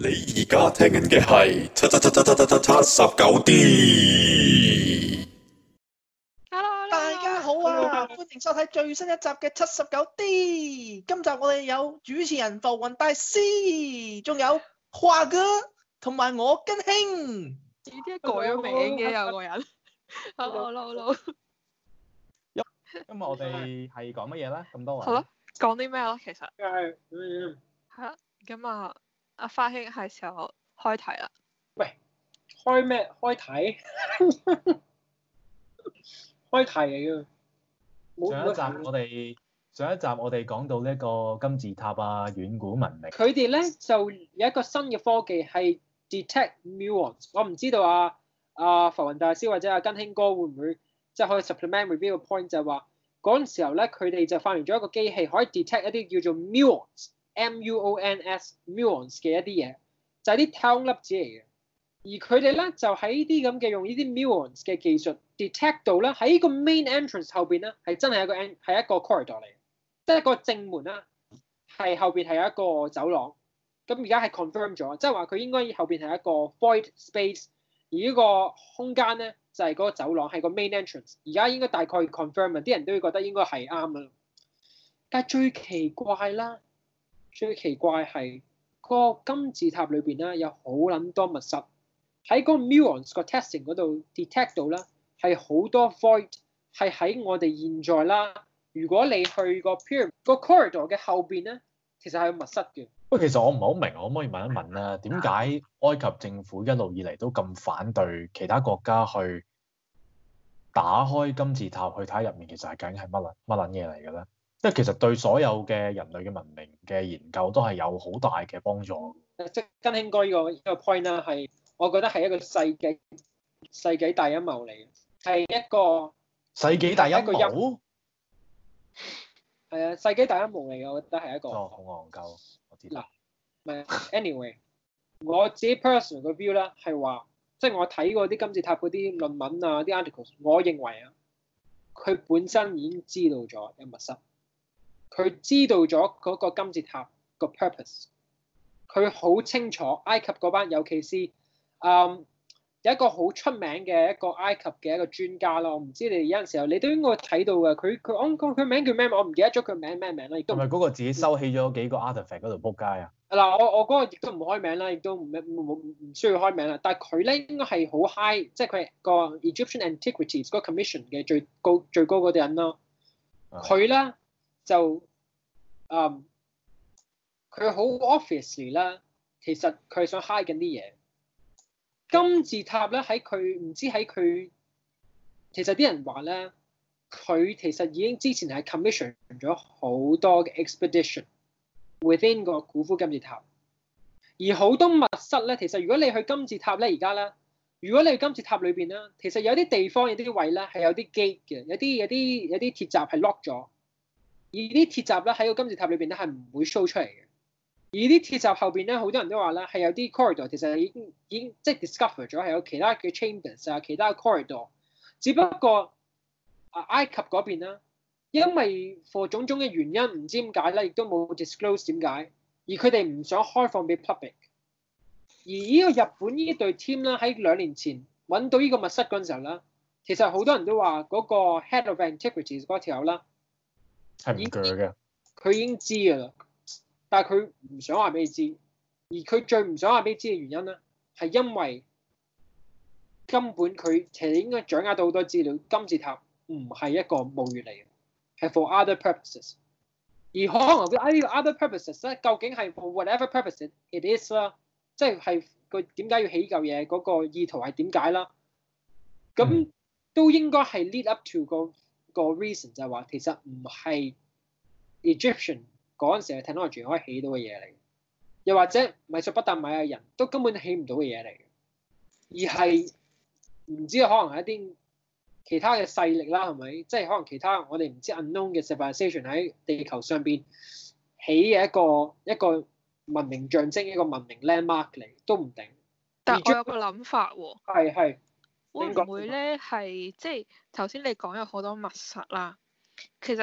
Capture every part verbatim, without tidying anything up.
你而家聽緊嘅係七七七七七七七七十九 D。 Hello， 大家好啊！歡迎收睇最新一集嘅七十九 D。今集我哋有主持人浮雲大師，仲有華哥同埋我根興。 點解改咗名嘅有個人？Hello，Hello， 今日我哋係講乜嘢咧？咁多位。 好啦，講啲咩咧？其實係，嗯， 係啦，咁啊，阿花兄係時候開題啦。 喂，開咩？開題？開題嚟㗎。 上一集我哋上一集我哋講到呢個金字塔啊、遠古文明。 佢哋咧就有一個新嘅科技係 detect muons。我唔知道啊啊浮雲大師或者阿根興哥會唔會即係可以 supplement review 個 point，就係話嗰陣時候咧，佢哋就發明咗一個機器可以 detect 一啲叫做 muons，M U O N S muons 嘅一啲嘢，就係啲太空粒子嚟嘅。而佢哋咧就喺啲咁嘅用呢啲 muons 嘅技術 detect 到咧喺個 main entrance 後邊咧係真係一個 en 係一個 corridor 嚟嘅，即係個正門啦，係後邊係有一個走廊。咁而家係 confirm 咗，即係話佢應該後邊係一個 void space，而呢個空間咧就係、是、嗰個走廊係個 main entrance。而家應該大概 confirm 啊，啲人都會覺得應該係啱啦。但係最奇怪啦，最奇怪係、個金字塔裏邊咧有好撚多密室。喺嗰個 muons 個 testing 嗰度 detect 到啦，係好多 void 係喺我哋現在啦。如果你去個 pyramid 個 corridor 嘅後邊咧，其實係有密室嘅。 不過其實我唔係好明，可唔可以問一問咧？點解埃及政府一路以嚟都咁反對其他國家去打開金字塔去睇入面，其實係究竟係乜撚乜撚嘢嚟嘅咧？即係其實對所有嘅人類嘅文明嘅研究都係有好大嘅幫助。 即係根興哥呢個呢個 point 啦，係我覺得係一個世紀世紀大陰謀嚟嘅，係一個世紀大陰一個謀。 係啊，世紀大陰謀嚟嘅，我覺得係一個。 哦，好戇鳩，我知道。 嗱，唔係 anyway，我自己 personal 嘅 view 咧係話，即係我睇過啲金字塔嗰啲論文啊、啲 articles，我認為啊，佢本身已經知道咗有密室，佢知道咗嗰個金字塔個 purpose，佢好清楚埃及嗰班，尤其是嗯有一個好出名嘅一個埃及嘅一個專家咯，我唔知你有陣時候你都應該睇到嘅，佢佢我佢佢名叫咩？我唔記得咗佢名咩名啦，亦都係咪嗰個自己收起咗幾個 artifact 嗰度撲街啊？ 嗱，我我嗰個亦都唔開名啦，亦都唔唔唔需要開名啦。但係佢咧應該係好 high，即係佢係個 Egyptian Antiquities 嗰個 commission 嘅最高最高嗰啲人咯。佢咧、嗯、就嗯佢好 obviously 啦，其實佢係想 hide 緊啲嘢。金字塔咧喺佢唔知喺佢，其實啲人話咧，佢其實已經之前係 commission 咗好多嘅 expedition within 個古夫金字塔，而好多密室咧，其實如果你去金字塔咧，而家咧，如果你去金字塔裏邊咧，其實有啲地方有啲位咧係有啲 gate 嘅，有啲有啲有啲鐵閘係 lock 咗，而啲鐵閘咧喺個金字塔裏邊咧係唔會 show 出嚟嘅。而啲鐵閘後邊咧，好多人都話咧係有啲 corridor，其實已經已經即係 discover 咗係有其他嘅 chambers 啊，其他嘅 corridor。只不過啊埃及嗰邊啦，因為 for 種種嘅原因，唔知點解咧，亦都冇 disclose 點解，而佢哋唔想開放俾 public。而呢個日本呢隊 team 啦，喺兩年前揾到呢個密室嗰陣時候啦，其實好多人都話嗰個 head of antiquities 嗰條友啦係唔鋸嘅， 佢已經知㗎啦。但係佢唔想話俾你知，而佢最唔想話俾你知嘅原因咧，係因為根本佢其實應該掌握到好多資料，金字塔唔係一個墓穴嚟嘅，係 for other purposes。而可能嗰啲 other purposes 咧，究竟係 for whatever purposes it is 啦，即係係佢點解要起嚿嘢，嗰個意圖係點解啦？咁都應該係 lead up to 個個 reason 就係話其實唔係 Egyptian。嗰陣時嘅 technology 可以起到嘅嘢嚟，又或者米索不達米亞人都根本起唔到嘅嘢嚟，而係唔知可能係一啲其他嘅勢力啦，係咪？即係可能其他我哋唔知 unknown 嘅 civilization 喺地球上邊起嘅一個一個文明象徵，一個文明 landmark 嚟，都唔定。 但我有個諗法喎， 係係會唔會咧係即係頭先你講有好多密室啦，其實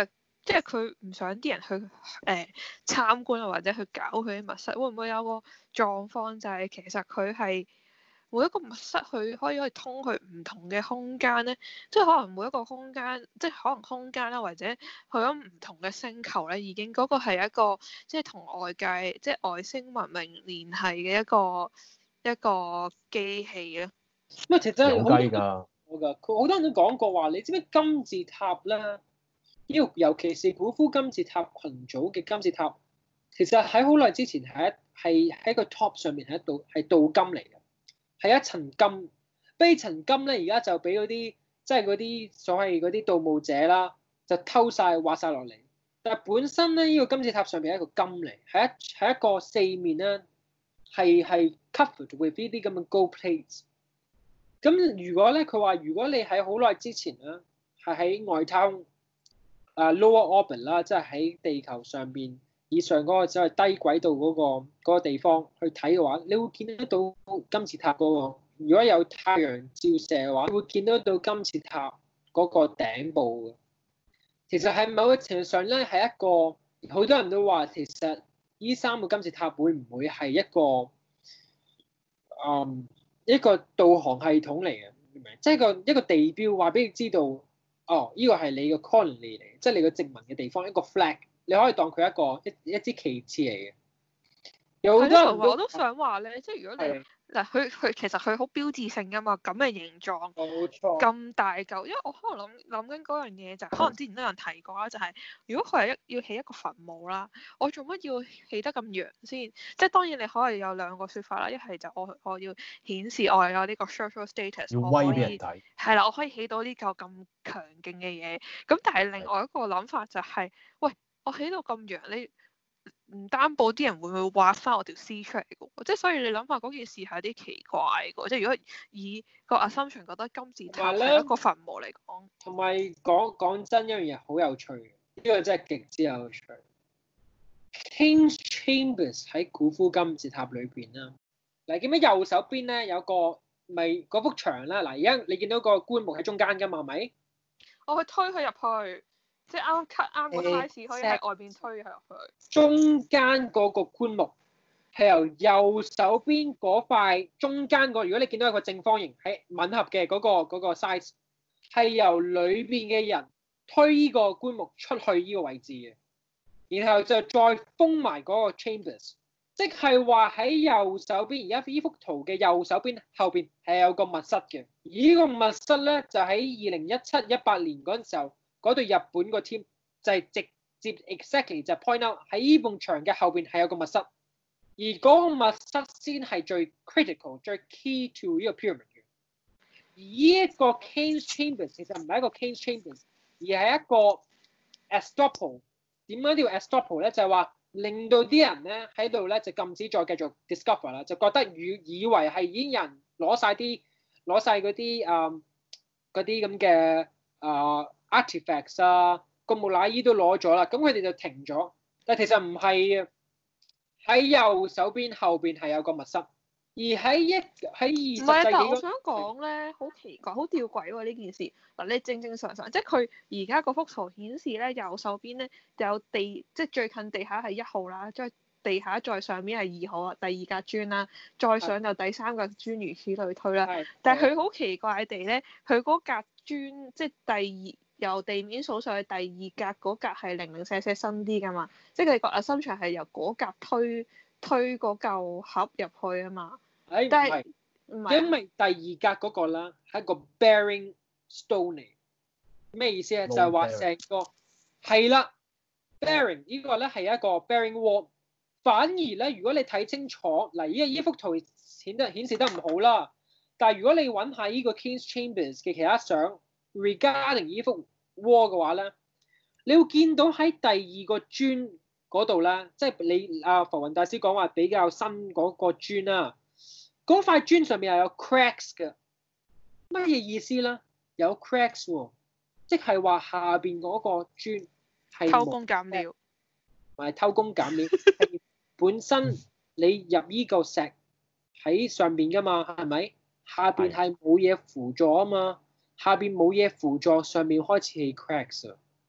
即係佢唔想啲人去誒、呃、參觀啊，或者去搞佢啲密室，會唔會有個狀況就係其實佢係每一個密室佢可以可以通去唔同嘅空間咧？即係可能每一個空間，即係可能空間啦，或者去咗唔同嘅星球咧，已經嗰個係一個即係同外界即係外星文明聯繫嘅一個一個機器啊。 咁啊，其實有雞㗎。 我㗎，佢好多人都講過話，你知唔知金字塔咧？呢個尤其是古夫金字塔群組嘅金字塔，其實喺好耐之前係一係喺個 top 上面係一道係鍍金嚟嘅，係一層金。不過呢層金咧，而家就俾嗰啲即係嗰啲所謂嗰啲盜墓者啦，就偷晒挖晒落嚟。但係本身咧，呢個金字塔上面係一個金嚟，係一係一個四面咧係係 covered with 呢啲咁嘅 gold plates。咁如果咧，佢話如果你喺好耐之前咧，係喺外太空啊 lower orbit 啦，即係喺地球上邊以上嗰個即係低軌道嗰個嗰個地方去睇嘅話，你會見得到金字塔嗰個。如果有太陽照射嘅話，你會見得到金字塔嗰個頂部嘅。其實喺某個程度上咧，係一個好多人都話，其實呢三個金字塔會唔會係一個嗯？一個導航系統嚟嘅，明唔明？即係個一個地標，話俾你知道，哦，呢個係你個 colony 嚟，即係你個殖民嘅地方，一個 flag，你可以當佢一個一一支旗幟嚟嘅。有好多人我都想話咧，即係如果你係嗱，佢佢其實佢好標誌性噶嘛，咁嘅形狀， 冇錯， 咁大嚿。因為我可能諗諗緊嗰樣嘢就係，可能之前都有人提過啦，就係如果佢係一要起一個墳墓啦，我做乜要起得咁陽先？即係當然你可以有兩個説法啦，一係就我我要顯示我有呢個 social status， 要我可以威俾人睇。 係啦，我可以起到呢嚿咁強勁嘅嘢。咁但係另外一個諗法就係，喂，我起到咁陽，你唔擔保啲人會唔會挖翻我條屍出嚟嘅喎？即係所以你諗下嗰件事係有啲奇怪嘅喎。即係如果以個 assumption 覺得金字塔係一個墳墓嚟講， 同埋講講真一樣嘢好有趣嘅，呢個真係極之有趣。King's Chambers 喺古夫金字塔裏邊啦，嗱見唔見右手邊咧有個咪嗰幅牆啦？嗱而家你見到個棺木喺中間㗎嘛？係咪？ 我去推佢入去。即係啱 cut 啱個 size 可以喺外邊推佢入去。 中間嗰個棺木係由右手邊嗰塊中間個，如果你見到一個正方形係吻合嘅嗰個嗰個 size，係由裏邊嘅人推呢個棺木出去呢個位置嘅，然後就再封埋嗰個 chambers， 即係話喺右手邊，而家呢幅圖嘅右手邊後邊係有個密室嘅，而呢個密室咧就喺二零一七一八年嗰陣時候。嗰對日本個 team 就係直接 exactly 就 point out 喺呢埲牆嘅後邊係有個密室，而嗰個密室先係最 critical、最 key to 呢個 pyramid 嘅。而呢一個 King's Chambers 其實唔係一個 King's Chambers， 而係一個 estoppel。點解叫 estoppel 咧？就係話令到啲人咧喺度咧就禁止再繼續 discover 啦，就覺得以以為係已經有人攞晒啲攞晒嗰啲誒嗰啲咁嘅誒。artifacts 啊，個木乃伊都攞咗啦，咁佢哋就停咗。但其實唔係啊，喺右手邊後邊係有個密室，而喺一喺二十世紀。唔係， 但我想講咧，好奇怪，好吊詭喎呢件事。嗱，你正正常常，即係佢而家嗰幅圖顯示咧，右手邊咧就有地，即係最近地下係一號啦，即係地下再上面係二號啊，第二格磚啦，再上就第三格磚，如此類推啦。但係佢好奇怪地咧，佢嗰格磚即係第二。由地面數上去第二格嗰格係零零舍舍深啲㗎嘛，即係佢個 assumption係由嗰格推推嗰嚿盒入去啊嘛。 誒， 但係唔係，因為第二格嗰個啦係一個 bearing stone 嚟，咩意思咧？就係話成個係啦 ，bearing 呢個咧係一個 bearing wall。反而咧，如果你睇清楚嗱，依依幅圖顯得顯示得唔好啦，但係如果你揾下呢個 King's Chambers 嘅其他相。regarding 呢幅 wall 嘅話咧，你會見到喺第二個磚嗰度咧，即係你阿浮雲大師講話比較新嗰個磚啦，嗰塊磚上面係有 cracks 嘅，乜嘢意思咧？有 cracks 喎，即係話下邊嗰個磚係偷工減料， 唔係偷工減料，係本身你入依個石喺上邊噶嘛，係咪？下邊係冇嘢輔助啊嘛。下邊冇嘢輔助，上面開始係 cracks 啊！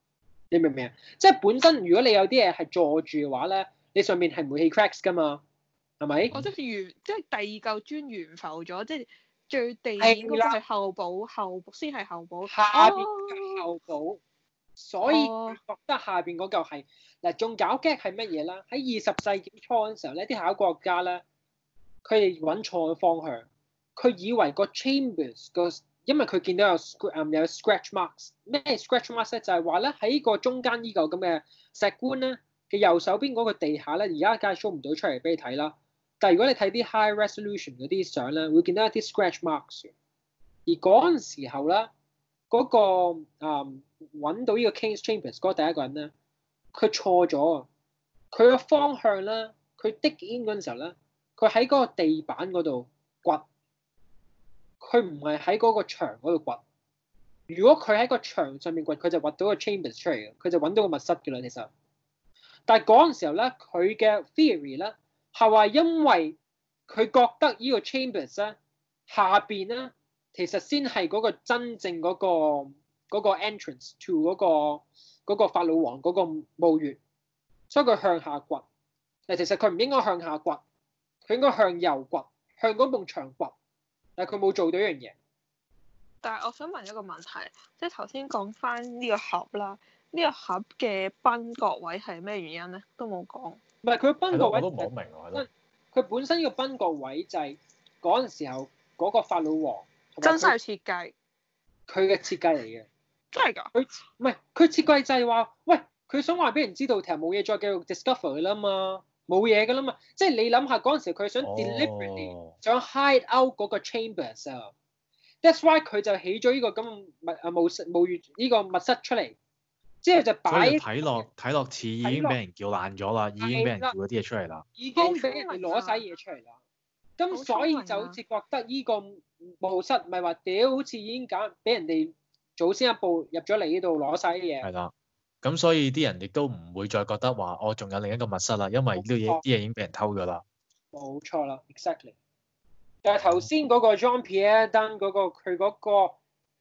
你明唔明啊？即係本身如果你有啲嘢係坐住嘅話咧，你上面係唔會起 cracks 噶嘛，係咪？ 哦，即係懸，即係第二嚿磚懸浮咗，即係最地面嗰個係後補，後先係後補。 下邊嘅後補，哦、所以佢覺得下邊嗰嚿係嗱，仲搞激係乜嘢啦？喺二十世紀初嗰陣時候咧，啲考古學家咧，佢哋揾錯咗方向，佢以為個 chambers 個。因為佢見到有 scratch、um, 有 scratch marks， 咩 scratch marks 咧？就係話咧喺個中間依嚿咁嘅石棺咧嘅右手邊嗰個地下咧，而家梗係 show 唔到出嚟俾你睇啦。但係如果你睇啲 high resolution 嗰啲相咧，會見到一啲 scratch marks。而嗰陣時候咧，嗰、嗰個誒揾、嗯、到呢個 King's Chambers 嗰個第一個人咧，佢錯咗啊！佢個方向咧，佢 dig in 嗰陣時候咧，佢喺嗰個地板嗰度掘。佢唔係喺嗰個牆嗰度掘。如果佢喺個牆上面掘，佢就掘到個 chambers 出嚟嘅，佢就揾到個密室嘅啦。其實，但係嗰陣時候咧，佢嘅 theory 咧係話因為佢覺得呢個 chambers 咧下邊咧其實先係嗰個真正嗰、嗰個嗰個 entrance to 嗰、嗰個嗰、嗰個法老王嗰個墓穴，所以佢向下掘。但其實佢唔應該向下掘，佢應該向右掘，向嗰埲牆掘。但係佢冇做到一樣嘢。 但係我想問一個問題，即係頭先講翻呢個盒啦，呢、呢個盒嘅崩角位係咩原因咧？都冇講。唔係佢崩角位， 我都唔好明喎。 佢本身呢個崩角位就係嗰陣時候嗰個法老王真實設計， 佢嘅設計嚟嘅。 真係㗎？ 佢唔係佢設計就係話，喂，佢想話俾人知道，其實冇嘢再繼續 discover 㗎啦嘛。冇嘢㗎啦嘛，即係你諗下嗰陣時佢想 deliberately、oh. 想 hide out 嗰個 chambers 啊 ，that's why 佢就起咗呢個咁密啊墓室墓穴呢個密室出嚟，之後就擺睇落睇落似已經俾人撬爛咗啦，已經俾人撬咗啲嘢出嚟啦， 已經俾人哋攞晒嘢出嚟啦，咁所以就好似覺得呢個墓室唔係話屌，好似已經搞俾人哋早先一步入咗嚟呢度攞晒啲嘢。 係啦。咁所以啲人亦都唔會再覺得話我仲有另一個密室啦，因為呢啲嘢啲嘢已經俾人偷咗啦。 冇錯啦 ，exactly。但係頭先嗰個 Jean-Pierre Dunne 嗰個佢嗰個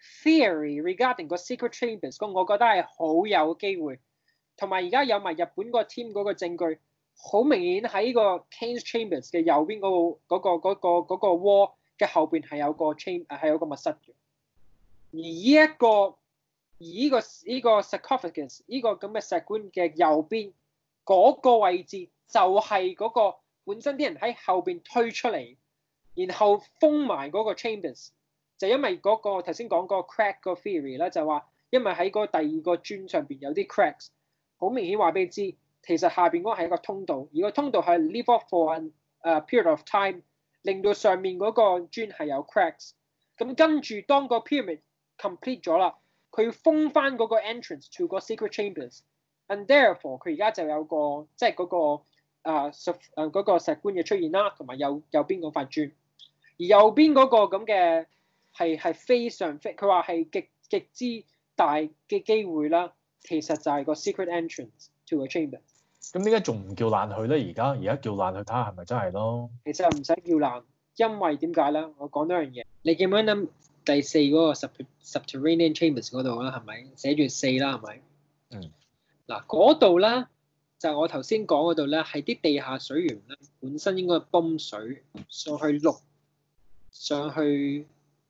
theory regarding 個 secret chambers，咁我覺得係好有機會。同埋而家有埋日本個 team 嗰個證據，好明顯喺個 King's Chambers 嘅右邊嗰、嗰個嗰、嗰個嗰、嗰個嗰、嗰個 wall 嘅後邊係有個 chamber 係有個密室嘅。而呢一個而呢、這個依、這個 sarcophagus 呢個咁嘅石棺嘅右邊嗰、那個位置就係嗰個本身啲人喺後邊推出嚟，然後封埋嗰個 chambers， 就因為嗰、那個頭先講嗰個 crack 個 theory 咧，就話因為喺嗰第二個磚上邊有啲 cracks， 好明顯話俾你知，其實下邊嗰個係一個通道，而個通道係 leave off for a period of time， 令到上面嗰個磚係有 cracks。咁跟住當個 pyramid complete 咗啦。佢要封翻嗰個 entrance to 個 secret chambers，and therefore 佢而家就有個即係嗰個啊石誒嗰個石棺嘅出現啦，同埋右右邊嗰塊磚，而右邊嗰個咁嘅係係非常非佢話係極極之大嘅機會啦，其實就係個 secret entrance to 個 chamber。 咁點解仲唔叫爛佢咧？而家而家叫爛佢睇下係咪真係咯？ 其實唔使叫爛，因為點解咧？我講多樣嘢，你記唔記得？第四嗰個 subterranean chambers 嗰度啦，係咪寫住四啦？係咪？ 嗯。嗱， 嗰度咧就係、我頭先講嗰度咧，係啲地下水源咧，本身應該係泵水上去六，上去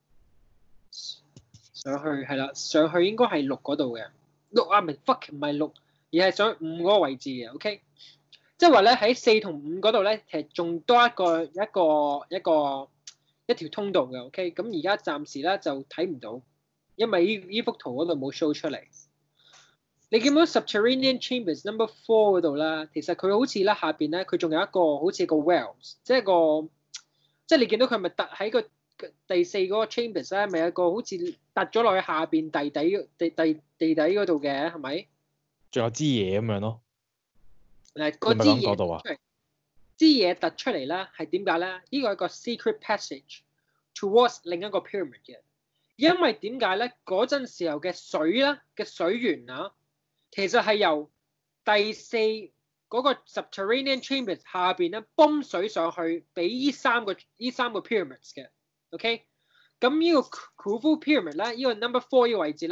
上去係啦，上去應該係六嗰度嘅，六啊，唔係 fuck 唔係六，而係上去五嗰個位置嘅 ，OK？即係話咧喺四同五嗰度咧，其實仲多一個一個一個。一個一條通道嘅 ，OK，咁而家暫時咧就睇唔到，因為呢依幅圖嗰度冇 show 出嚟。你見到 subterranean chambers number four 嗰度啦，其實佢好似咧下邊咧，佢仲有一個好似個 wells， 即係個，即係你見到佢咪突喺個第四嗰個 chambers 咧，咪有一個好似突咗落去下邊地底地地地底嗰度嘅，係咪？ 仲有支嘢咁樣咯。 嗱，嗰支嘢。支嘢突出嚟咧，係點解咧？呢個係一個 secret passage towards 另一個 pyramid 嘅。因為點解咧？嗰陣時候嘅水咧嘅水源啊，其實係由第四嗰個 subterranean chambers 下邊咧泵水上去，俾呢三個呢三個 pyramids 嘅。OK，咁呢個 Khufu pyramid 咧，呢個 number four 呢個位置咧，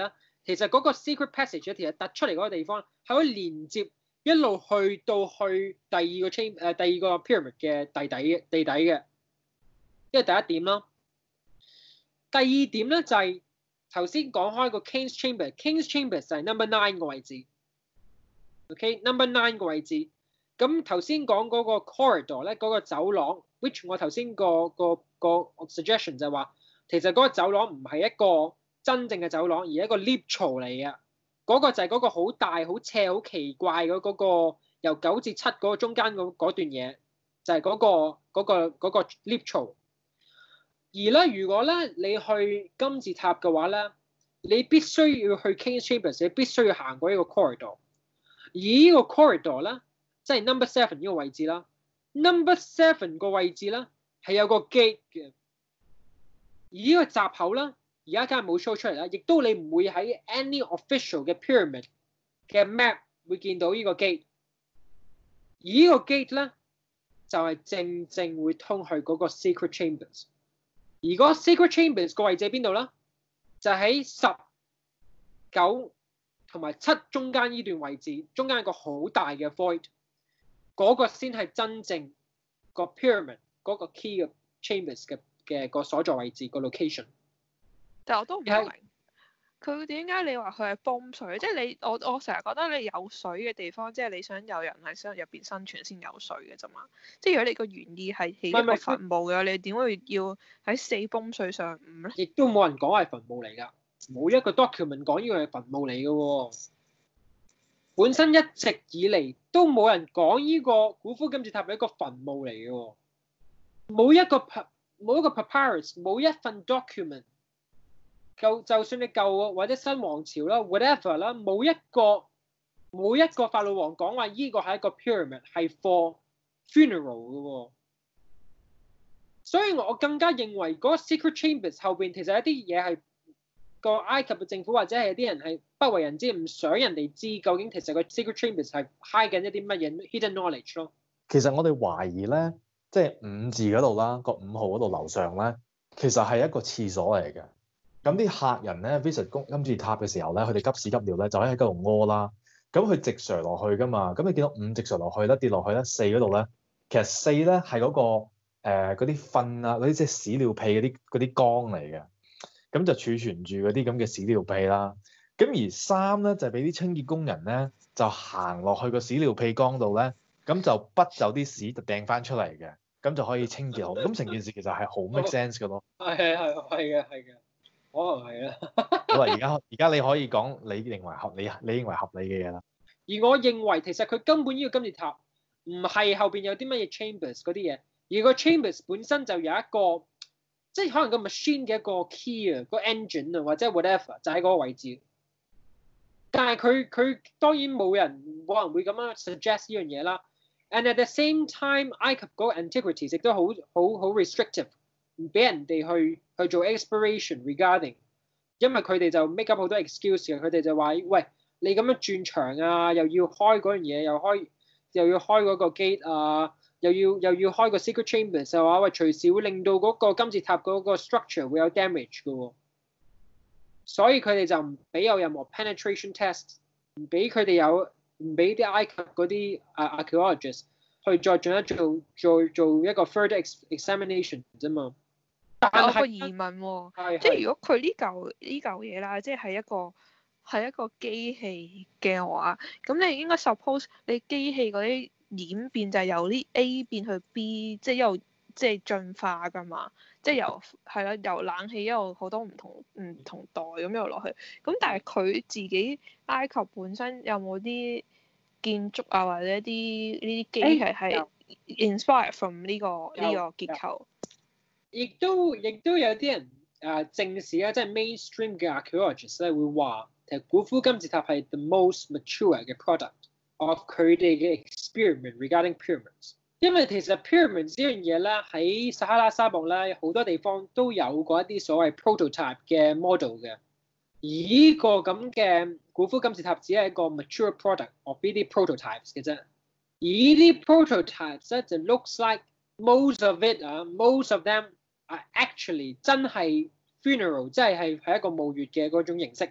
其實嗰個 secret passage 其實突出嚟嗰個地方係可以連接一路去到去第二個 chamber 誒、呃、第二個 pyramid 嘅地底地底嘅，呢個第一點啦。第二點咧就係頭先講開個 King's Chamber，King's Chamber 就係 number nine 個位置。OK，number nine 個位置。咁頭先講嗰個 corridor 咧，嗰個走廊 ，which 我頭先個個個 suggestion 就係話，其實嗰個走廊唔係一個真正嘅走廊，而係一個 lift 槽嚟嘅。嗰個就係嗰個好大、好斜、好奇怪嘅嗰個由九至七嗰個中間嗰段嘢，就係嗰個嗰個嗰個 lift 槽。而咧，如果咧你去金字塔嘅話咧，你必須要去 King's Chambers，你必須要行過呢個 corridor。而呢個 corridor 咧，即係 number seven 呢個位置啦。number seven 個位置咧係有個 gate 嘅。而呢個閘口咧，而家梗係冇 show 出嚟啦，亦都你唔會喺 any official 嘅 pyramid 嘅 map 會見到呢個 gate。而呢個 gate 咧就係、是、正正會通去嗰個 secret chambers。而嗰個 secret chambers 個位置喺邊度咧？就喺十九同埋七中間呢段位置，中間有個好大嘅 void， 嗰個先係真正個 pyramid 嗰個 key 嘅 chambers 嘅嘅個所在位置個 location。 但我都唔明佢點解你話佢係泵水，即係你我我成日覺得你有水嘅地方，即係你想有人喺想入邊生存先有水嘅啫嘛。即係如果你個原意係起一個墳墓嘅，你點會要喺死泵水上午咧？ 亦都冇人講係墳墓嚟㗎，冇一個 document 講呢個係墳墓嚟嘅喎。本身一直以嚟都冇人講呢個古夫金字塔係一個墳墓嚟嘅喎，冇一個冇一個 papyrus， 冇一份 document。舊就算你舊或者新王朝啦 ，whatever 啦，冇一個冇一個法老王講話依個係一個 pyramid 係 for funeral 嘅喎，所以我更加認為嗰個 secret chambers 後邊其實一啲嘢係個埃及嘅政府或者係有啲人係不為人知，唔想人哋知究竟其實個 secret chambers 係 hide 緊一啲乜嘢 hidden knowledge 咯。 其實我哋懷疑咧，即係五字嗰度啦，個五號嗰度樓上咧，其實係一個廁所嚟嘅。咁啲客人咧 visit 金字塔嘅時候咧，佢哋急屎急尿咧，就喺嗰度屙啦。咁佢直垂落去噶嘛，咁你見到五直垂落去咧，跌落去咧，四嗰度咧，其實四咧係嗰個誒嗰啲糞啊，嗰啲即係屎尿屁嗰啲嗰啲缸嚟嘅，咁就儲存住嗰啲咁嘅屎尿屁啦。咁而三咧就係俾啲清潔工人咧，就行落去個屎尿屁缸度咧，咁就滗走啲屎就掟翻出嚟嘅，咁就可以清潔好。咁成件事其實係好 make sense 嘅咯。 係係係嘅係嘅。可能係啦。 好啦，而家而家你可以講你認為合理，你認為合理嘅嘢啦。 而我認為其實佢根本呢個金字塔唔係後邊有啲乜嘢 chambers 嗰啲嘢，而個 chambers 本身就有一個，即係可能個 machine 嘅一個 key 啊，個 engine 啊或者 whatever 就喺嗰個位置。但係佢佢當然冇人冇人會咁樣 suggest 呢樣嘢啦。And at the same time， 埃及嗰個 antiquities 亦都好好好 restrictive。唔俾人哋去去做 exploration regarding， 因為佢哋就 make up 好多 excuse 嘅，佢哋就話：喂，你咁樣轉牆啊，又要開嗰樣嘢，又開又要開嗰個 gate 啊，又要又要開個 secret chambers 嘅話，喂，隨時會令到嗰個金字塔嗰個 structure 會有 damage 嘅喎。所以佢哋就唔俾有任何 penetration test， 唔俾佢哋有唔俾啲埃及嗰啲啊 archaeologists 去再進一做做做一個 further examination 啫嘛。 但係我有個疑問喎，係即係如果佢呢嚿呢嚿嘢啦，即係係一個係一個機器嘅話，咁你應該 suppose 你機器嗰啲演變就係由啲 A 變去 B， 即係一路即係進化㗎嘛，即係由係啦，由冷氣一路好多唔同唔同代咁一路落去。咁但係佢自己埃及本身有冇啲建築啊，或者啲呢啲機器係 inspire from 呢個呢個結構？ 亦都亦都有啲人誒正視咧，即係 mainstream 嘅 archaeologists 咧會話，其實古夫金字塔係 the most mature 嘅 product of 佢哋嘅 experiment regarding pyramids。因為其實 pyramids 呢樣嘢咧喺撒哈拉沙漠咧好多地方都有過一啲所謂 prototype 嘅 model 嘅，而呢個咁嘅古夫金字塔只係一個 mature product of 呢啲 prototypes 嘅啫。而呢啲 prototypes 咧就 looks like most of it 啊、uh, ，most of them。啊 ，actually 真係 funeral， 即係係係一個墓穴嘅嗰種形式，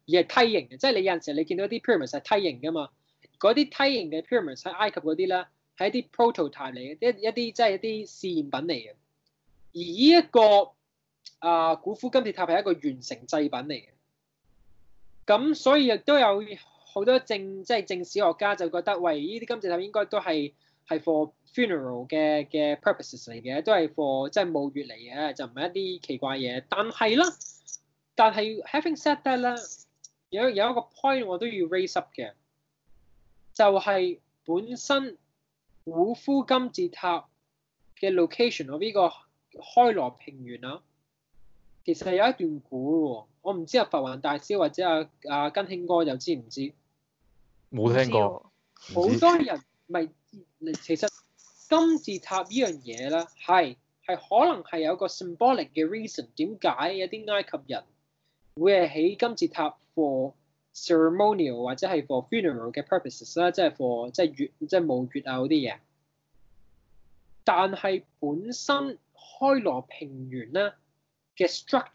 而係梯形嘅，即係你有陣時你見到啲 pyramid 係梯形㗎嘛，嗰啲梯形嘅 pyramid 喺埃及嗰啲咧係一啲 prototype 嚟嘅，一一啲即係一啲試驗品嚟嘅。而呢一個啊古夫金字塔係一個完成製品嚟嘅，咁所以亦都有好多正即係正史學家就覺得，喂，呢啲金字塔應該都係係 for funeral 嘅嘅 purposes 嚟嘅，都係 for 即係墓穴嚟嘅，就唔係一啲奇怪嘢。但係啦，但係 having said that 咧，有有一個 point 我都要 raise up 嘅，就係本身古夫金字塔嘅 location 我呢個開羅平原啊，其實係有一段古喎，我唔知阿浮雲大師或者阿阿根興哥又知唔知？ 冇聽過。 好多人咪其實金字塔呢樣嘢咧，係係可能係有個 symbolic 嘅 reason 點解有啲埃及人會係起金字塔 for ceremonial 或者係 for funeral 嘅 purposes 啦，即係 for 即係月即係墓穴啊嗰啲嘢。但係本身開羅平原咧嘅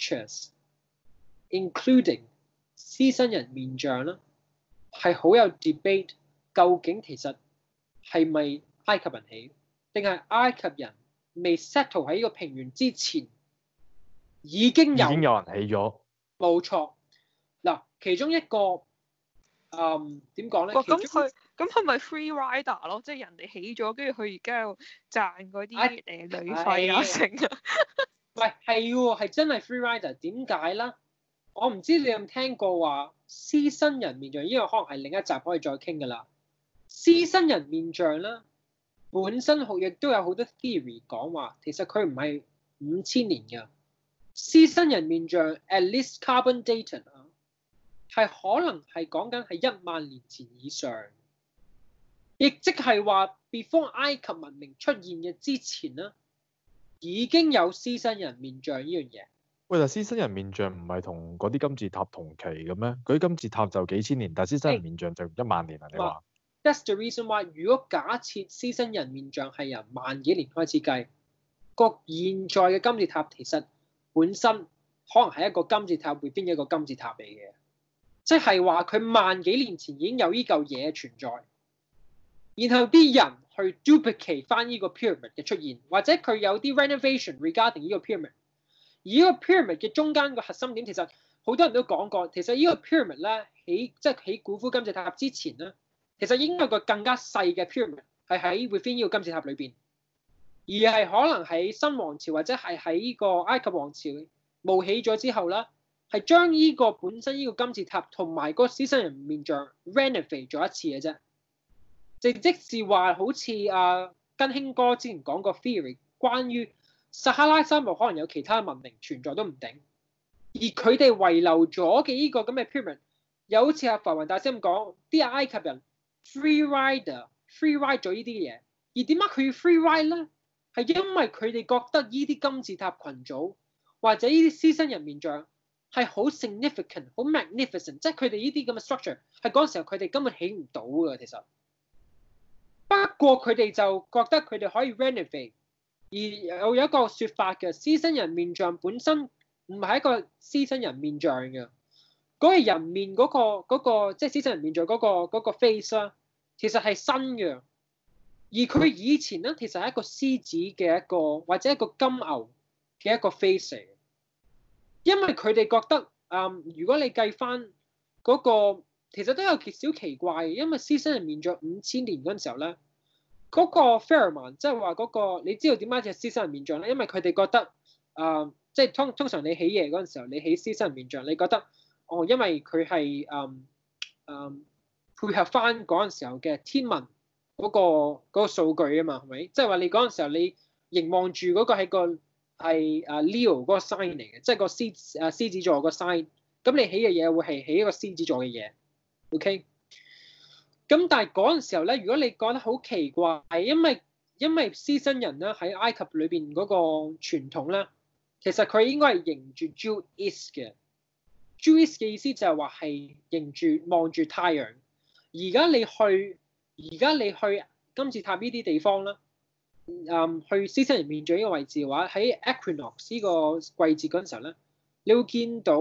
structures，including 獅身人面像啦，係好有 debate。究竟其實係咪埃及人起，定係埃及人未 settle 喺呢個平原之前已經有已經有人起咗？ 冇錯。嗱，其中一個誒點講咧？ 咁佢咁佢咪 free rider 咯，即係人哋起咗，跟住佢而家又賺嗰啲誒旅費啊成啊。 喂，係喎，係真係 free rider。點解咧？我唔知你有冇聽過話獅身人面像，呢個可能係另一集可以再傾㗎啦。獅身人面像咧，本身好亦都有好多 theory 講話，其實佢唔係五千年㗎。獅身人面像 at least carbon dated 啊，係可能係講緊係一萬年前以上，亦即係話 before 埃及文明出現嘅之前咧，已經有獅身人面像呢樣嘢。 喂，但獅身人面像唔係同嗰啲金字塔同期嘅咩？嗰啲金字塔就幾千年，但獅身人面像就一萬年啊！你話 ？That's the reason why。如果假設獅身人面像係由萬幾年開始計，個現在嘅金字塔其實本身可能係一個金字塔會邊一個金字塔嚟嘅，即係話佢萬幾年前已經有呢嚿嘢存在，然後啲人去 duplicate 翻呢個 pyramid 嘅出現，或者佢有啲 renovation regarding 呢個 pyramid。而呢個 pyramid 嘅中間個核心點，其實好多人都講過，其實呢個 pyramid 咧起即係起古夫金字塔之前咧，其實應該有個更加細嘅 pyramid 係喺 within 呢個金字塔裏邊，而係可能喺新王朝或者係喺呢個埃及王朝冒起咗之後咧，係將呢個本身呢個金字塔同埋個獅身人面像 renovate 咗一次嘅啫，即即是話好似阿根興哥之前講過 theory 關於撒哈拉沙漠可能有其他文明存在都唔定，而佢哋遺留咗嘅呢個咁嘅 pyramid， 又好似阿浮雲大師咁講，啲埃及人 free rider free ride 咗呢啲嘢，而點解佢要 free ride 咧？係因為佢哋覺得呢啲金字塔群組或者呢啲獅身人面像係好 significant 好 magnificent， 即係佢哋呢啲咁嘅 structure 係嗰陣時候佢哋根本起唔到㗎其實，不過佢哋就覺得佢哋可以 renovate。而有有一個説法嘅，獅身人面像本身唔係一個獅身人面像嘅，嗰、那個人面嗰、那個嗰、那個即係獅身人面像嗰、那個嗰、那個 face 啦，其實係新嘅。而佢以前咧，其實係一個獅子嘅一個或者一個金牛嘅一個 face 嚟嘅，因為佢哋覺得嗯，如果你計翻嗰個，其實都有少奇怪嘅，因為獅身人面像五千年嗰陣時候咧。嗰個 Pharaoh 即係話嗰個，你知道點解隻獅身人面像咧？因為佢哋覺得，啊、呃，即係通通常你起嘢嗰陣時候，你起獅身人面像，你覺得，哦，因為佢係嗯嗯配合翻嗰陣時候嘅天文嗰、嗰個嗰、嗰個數據啊嘛，係咪？即係話你嗰陣時候你凝望住嗰個係個係啊 Leo 嗰個 sign 嚟嘅，即係個獅啊獅子座個 sign。咁你起嘅嘢會係起一個獅子座嘅嘢 ，OK？咁但係嗰陣時候咧，如果你覺得好奇怪，係因為因為獅身人咧喺埃及裏邊嗰個傳統咧，其實佢應該係迎住 Jewish 嘅 Jewish 嘅意思就係話係迎住望住太陽。而家你去而家你去金字塔呢啲地方啦，嗯，去獅身人面像呢個位置嘅話，喺 Equinox 呢個季節嗰陣時候咧，你會見到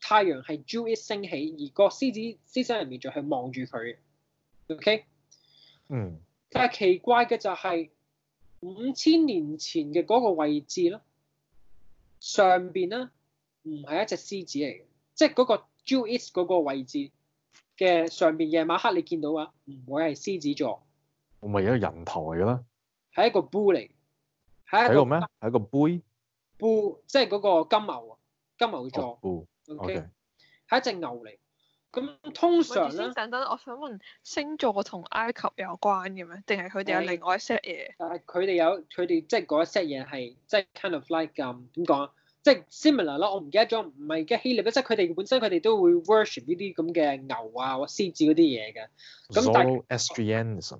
太陽係 Jewett 升起，而個獅子獅身人面像係望住佢嘅。OK， 嗯， 但係奇怪嘅就係五千年前嘅嗰個位置咧，上邊咧唔係一隻獅子嚟嘅，即係嗰個 Jewett 嗰個位置嘅上邊夜晚黑你見到啊，唔會係獅子座， 我咪一個人頭嚟嘅啦， 係一個 bull 嚟，係係一個咩？係一個杯 bull，即係嗰個金牛啊，金牛座。 哦 OK，係一隻牛嚟。咁通常咧， 先等等，我想問星座同埃及有關嘅咩？定係佢哋有另外一 set 嘢？ 但係佢哋有佢哋即係嗰一 set 嘢係即係 kind of like 咁點講啊？即係 similar 啦。我唔記得咗，唔係嘅希臘，即係佢哋本身佢哋都會 worship 呢啲咁嘅牛啊或獅子嗰啲嘢嘅。咁但係 Zoroastrianism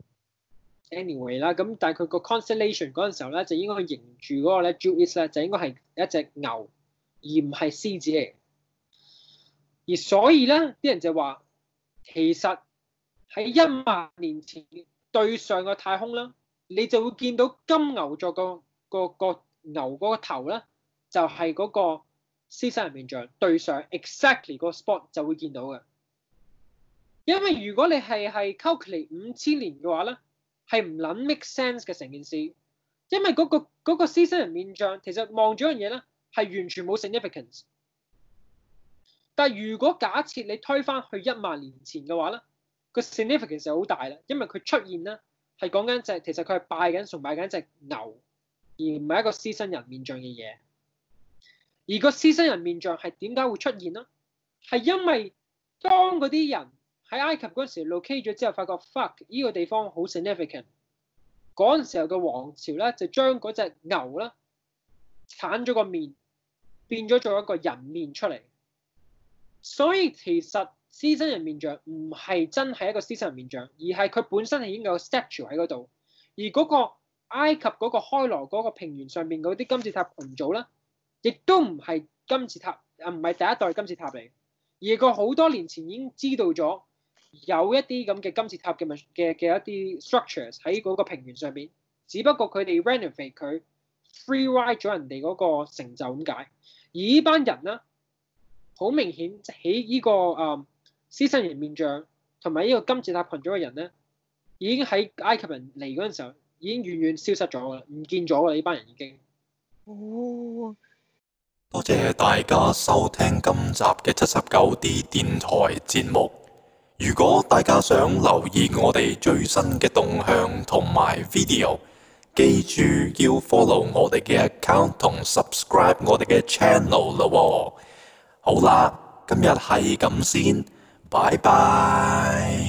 anyway 啦，咁但係佢個 constellation 嗰陣時候咧，就應該佢迎住嗰個咧 Jewett 咧，就應該係一隻牛，而唔係獅子嚟。而所以咧，啲人就話，其實喺一萬年前對上個太空啦，你就會見到金牛座個個個牛嗰個頭咧，就係、是、嗰個獅身人面像對上 exactly 個 spot 就會見到嘅。因為如果你係係 calculate 五千年嘅話咧，係唔撚 make sense 嘅成件事，因為嗰、那個嗰、那個獅身人面像其實望住樣嘢咧，係完全冇 significance。但係如果假設你推返去一萬年前嘅話咧，個 significance 就好大啦，因為佢出現咧係講緊隻其實佢係拜緊崇拜緊隻牛，而唔係一個獅身人面像嘅嘢。而個獅身人面像係點解會出現呢？係因為當嗰啲人喺埃及嗰時 locate 咗之後，發覺 fuck 呢個地方好 significant，嗰陣時候嘅王朝咧就將嗰隻牛咧剷咗個面，變咗做一個人面出嚟。所以其實獅身人面像唔係真係一個獅身人面像，而係佢本身係已經有個 statue 喺嗰度。而嗰個埃及嗰個開羅嗰個平原上面嗰啲金字塔群組咧，亦都唔係金字塔，啊唔係第一代金字塔嚟，而佢好多年前已經知道咗有一啲咁嘅金字塔嘅嘅嘅一啲 structures 喺嗰個平原上面，只不過佢哋 renovate 佢 free ride 咗人哋嗰個成就咁解。而呢班人咧，好明顯喺呢個誒獅身人面像同埋呢個金字塔群組嘅人咧，已經喺埃及人嚟嗰陣時候已經遠遠消失咗㗎啦，唔見咗㗎啦，呢班人已經。 哦， 多謝大家收聽今集嘅七十九 D 電台節目。如果大家想留意我哋最新嘅動向同埋 video， 記住要 follow 我哋嘅 account 同 subscribe 我哋嘅 channel 啦喎。好啦，今日係咁先，拜拜。